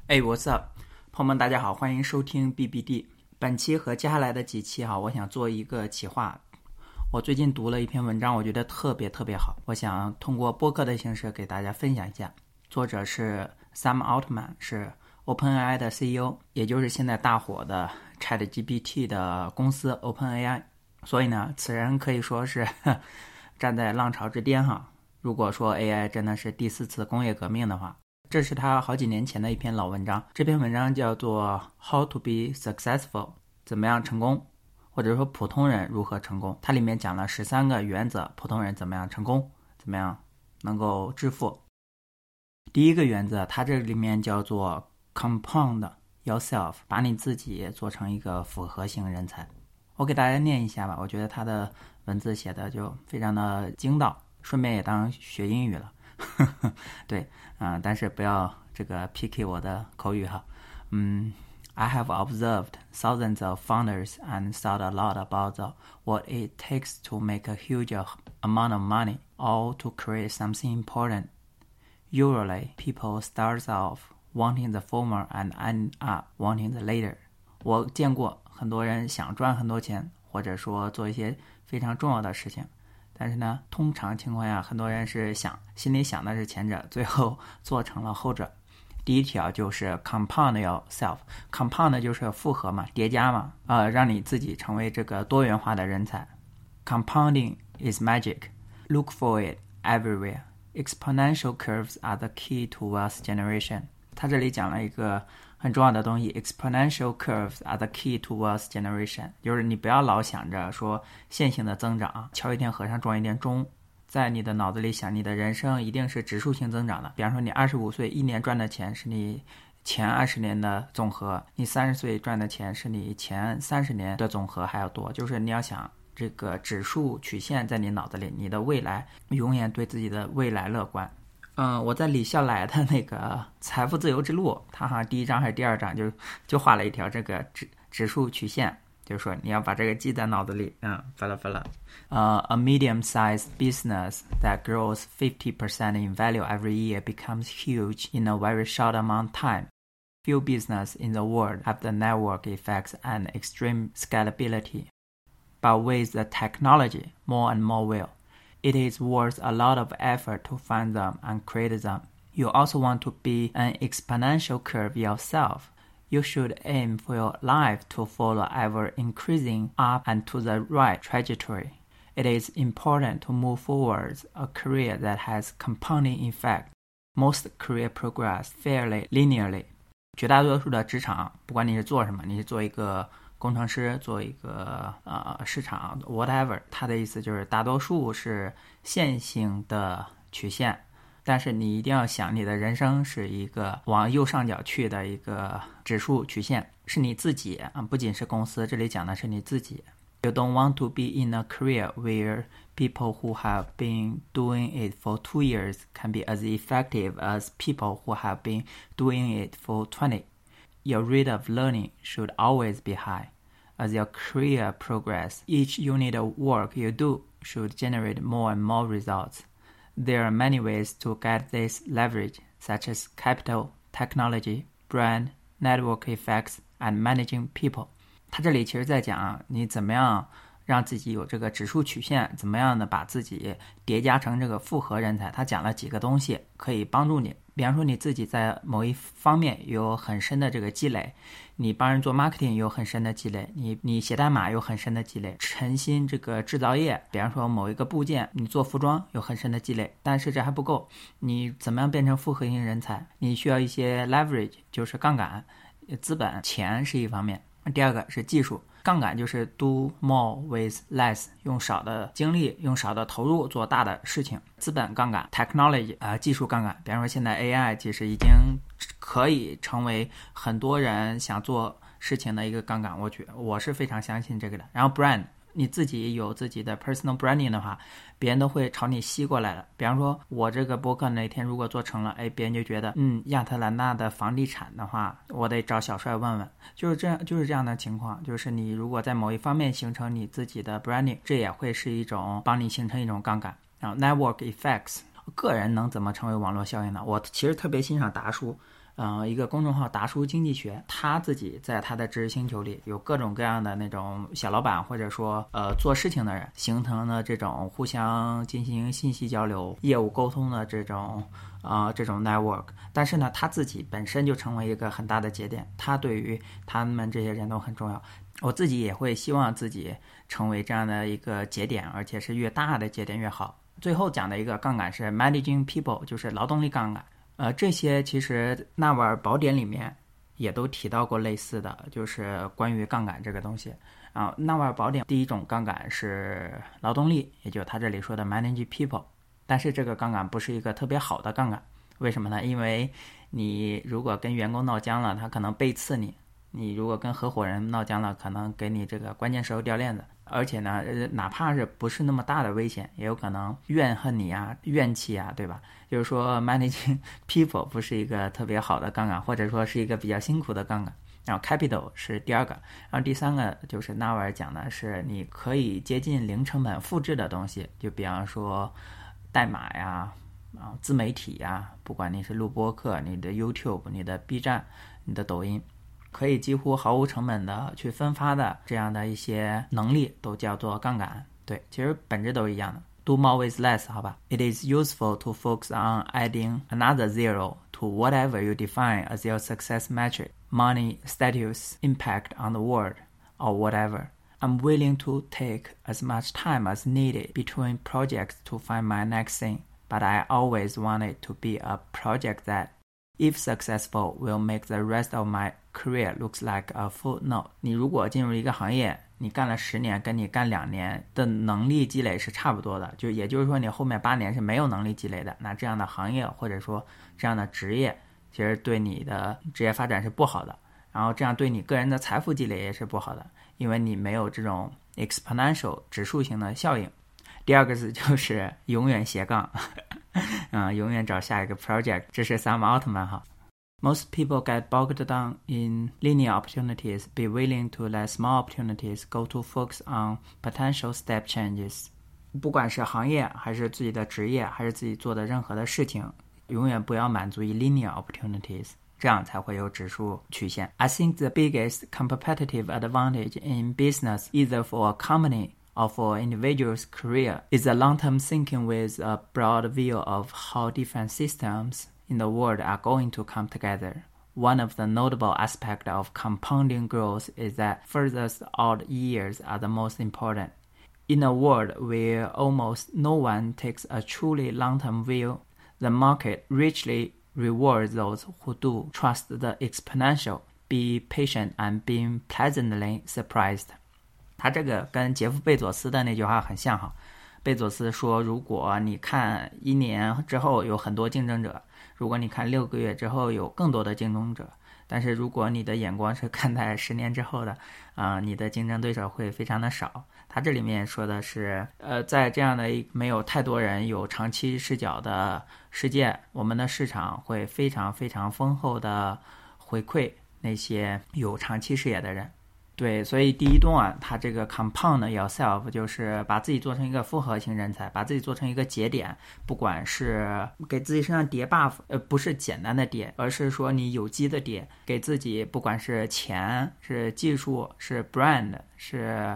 What's up， 朋友们，大家好，欢迎收听 BBD。本期和接下来的几期我想做一个企划。我最近读了一篇文章，我觉得特别好，我想通过播客的形式给大家分享一下。作者是 Sam Altman， 是 OpenAI 的 CEO， 也就是现在大火的 ChatGPT 的公司 OpenAI。所以呢，此人可以说是站在浪潮之巅哈。如果说 AI 真的是第4次工业革命的话，这是他好几年前的一篇老文章，这篇文章叫做 How to be successful， 怎么样成功，或者说普通人如何成功。它里面讲了13个原则，普通人怎么样成功，怎么样能够致富。第一个原则，它这里面叫做 compound yourself， 把你自己做成一个复合型人才。我给大家念一下吧，我觉得他的文字写的就非常的精到，顺便也当学英语了。对但是不要这个 PK 我的口语哈。I have observed thousands of founders and thought a lot about what it takes to make a huge amount of money or to create something important. Usually, people start off wanting the former and end up wanting the later. 我见过很多人想赚很多钱，或者说做一些非常重要的事情。但是呢，通常情况下，很多人是心里想的是前者，最后做成了后者。第一条就是 compound yourself，compound 就是复合嘛，叠加嘛，让你自己成为这个多元化的人才。Compounding is magic. Look for it everywhere. Exponential curves are the key to wealth generation. 他这里讲了一个很重要的东西 ，exponential curves are the key to wealth generation， 就是你不要老想着说线性的增长，敲一天和尚撞一天钟，在你的脑子里想你的人生一定是指数性增长的。比方说你25岁一年赚的钱是你前20年的总和，你30岁赚的钱是你前30年的总和还要多，就是你要想这个指数曲线在你脑子里，你的未来永远对自己的未来乐观。我在李笑来的那个财富自由之路，他好像第1章还是第2章就画了一条这个指数曲线，就是说你要把这个记在脑子里。A medium-sized business that grows 50% in value every year becomes huge in a very short amount of time. Few businesses in the world have the network effects and extreme scalability, but with the technology, more and more will.It is worth a lot of effort to find them and create them. You also want to be an exponential curve yourself. You should aim for your life to follow ever increasing up and to the right trajectory. It is important to move forward a career that has compounding effect. Most career progress fairly linearly. 绝大多数的职场，不管你是做什么，你是做一个工程师，做一个市场 whatever， 它的意思就是大多数是线性的曲线，但是你一定要想你的人生是一个往右上角去的一个指数曲线，是你自己不仅是公司，这里讲的是你自己。You don't want to be in a career where people who have been doing it for 2 years can be as effective as people who have been doing it for 20.Your rate of learning should always be high. As your career progresses, each unit of work you do should generate more and more results. There are many ways to get this leverage, such as capital, technology, brand, network effects, and managing people. 他这里其实在讲你怎么样让自己有这个指数曲线，怎么样的把自己叠加成这个复合人才。他讲了几个东西可以帮助你，比方说你自己在某一方面有很深的这个积累，你帮人做 marketing 有很深的积累，你写代码有很深的积累，沉心这个制造业，比方说某一个部件你做服装有很深的积累，但是这还不够，你怎么样变成复合型人才，你需要一些 leverage， 就是杠杆，资本钱是一方面，第二个是技术，杠杆就是 do more with less， 用少的精力用少的投入做大的事情。资本杠杆 technology 技术杠杆，比方说现在 AI 其实已经可以成为很多人想做事情的一个杠杆，我是非常相信这个的。然后 brand， 你自己有自己的 personal branding 的话，别人都会朝你吸过来的。比方说我这个播客那天如果做成了，别人就觉得亚特兰大的房地产的话，我得找小帅问问，就是这样的情况。就是你如果在某一方面形成你自己的 branding， 这也会是一种帮你形成一种杠杆。然后 network effects， 个人能怎么成为网络效应呢？我其实特别欣赏达叔一个公众号达叔经济学，他自己在他的知识星球里有各种各样的那种小老板或者说做事情的人，形成了这种互相进行信息交流、业务沟通的这种 network。但是呢，他自己本身就成为一个很大的节点，他对于他们这些人都很重要。我自己也会希望自己成为这样的一个节点，而且是越大的节点越好。最后讲的一个杠杆是 managing people， 就是劳动力杠杆。这些其实纳瓦尔宝典里面也都提到过类似的，就是关于杠杆这个东西。纳瓦尔宝典第一种杠杆是劳动力，也就是他这里说的 managing people， 但是这个杠杆不是一个特别好的杠杆。为什么呢？因为你如果跟员工闹僵了，他可能背刺你；你如果跟合伙人闹僵了，可能给你这个关键时候掉链子。而且呢，哪怕是不是那么大的危险，也有可能怨恨你啊、怨气啊，对吧？就是说 managing people 不是一个特别好的杠杆，或者说是一个比较辛苦的杠杆。然后 capital 是第二个，然后第三个就是纳瓦尔讲的是你可以接近零成本复制的东西，就比方说代码呀、自媒体呀，不管你是录播客、你的 YouTube、你的 B 站、你的抖音，可以几乎毫无成本的去分发的这样的一些能力都叫做杠杆。对，其实本质都是一样的。Do more with less， 好吧。It is useful to focus on adding another zero to whatever you define as your success metric, money, status, impact on the world, or whatever. I'm willing to take as much time as needed between projects to find my next thing, but I always want it to be a project that, if successful, will make the rest of my career looks like a footnote. 你如果进入一个行业，你干了10年，跟你干2年的能力积累是差不多的，就也就是说你后面8年是没有能力积累的，那这样的行业或者说这样的职业，其实对你的职业发展是不好的，然后这样对你个人的财富积累也是不好的，因为你没有这种 exponential 指数型的效应。第二个字就是永远斜杠永远找下一个 project， 这是萨姆奥特曼哈。Most people get bogged down in linear opportunities, be willing to let small opportunities go to focus on potential step changes. 不管是行业还是自己的职业还是自己做的任何的事情，永远不要满足于 linear opportunities， 这样才会有指数曲线。I think the biggest competitive advantage in business, either for a company or for an individual's career, is a long-term thinking with a broad view of how different systems in the world are going to come together. One of the notable aspects of compounding growth is that furthest out years are the most important. In a world where almost no one takes a truly long-term view, the market richly rewards those who do trust the exponential, be patient and being pleasantly surprised. 他这个跟杰夫·贝佐斯的那句话很像哈。贝佐斯说，如果你看1年之后有很多竞争者，如果你看6个月之后有更多的竞争者，但是如果你的眼光是看待10年之后的，你的竞争对手会非常的少。他这里面说的是，在这样的没有太多人有长期视角的世界，我们的市场会非常非常丰厚的回馈那些有长期视野的人。对，所以第一段它这个 compound yourself 就是把自己做成一个复合型人才，把自己做成一个节点，不管是给自己身上叠 buff， 不是简单的叠，而是说你有机的叠，给自己不管是钱、是技术、是 brand、是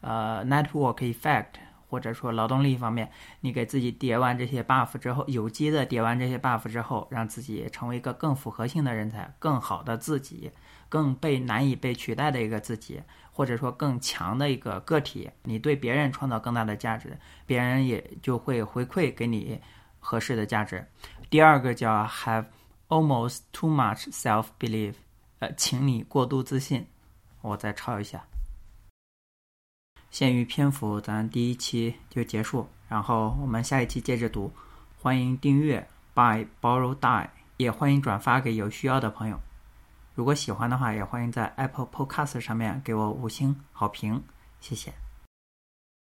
network effect， 或者说劳动力方面，你给自己叠完这些 buff 之后，有机的叠完这些 buff 之后，让自己成为一个更复合性的人才，更好的自己，更难以被取代的一个自己，或者说更强的一个个体，你对别人创造更大的价值，别人也就会回馈给你合适的价值。第二个叫 have almost too much self-belief， 请你过度自信。我再抄一下。限于篇幅，咱第一期就结束，然后我们下一期接着读。欢迎订阅 Buy Borrow Die， 也欢迎转发给有需要的朋友。如果喜欢的话，也欢迎在 Apple Podcast 上面给我5星好评，谢谢。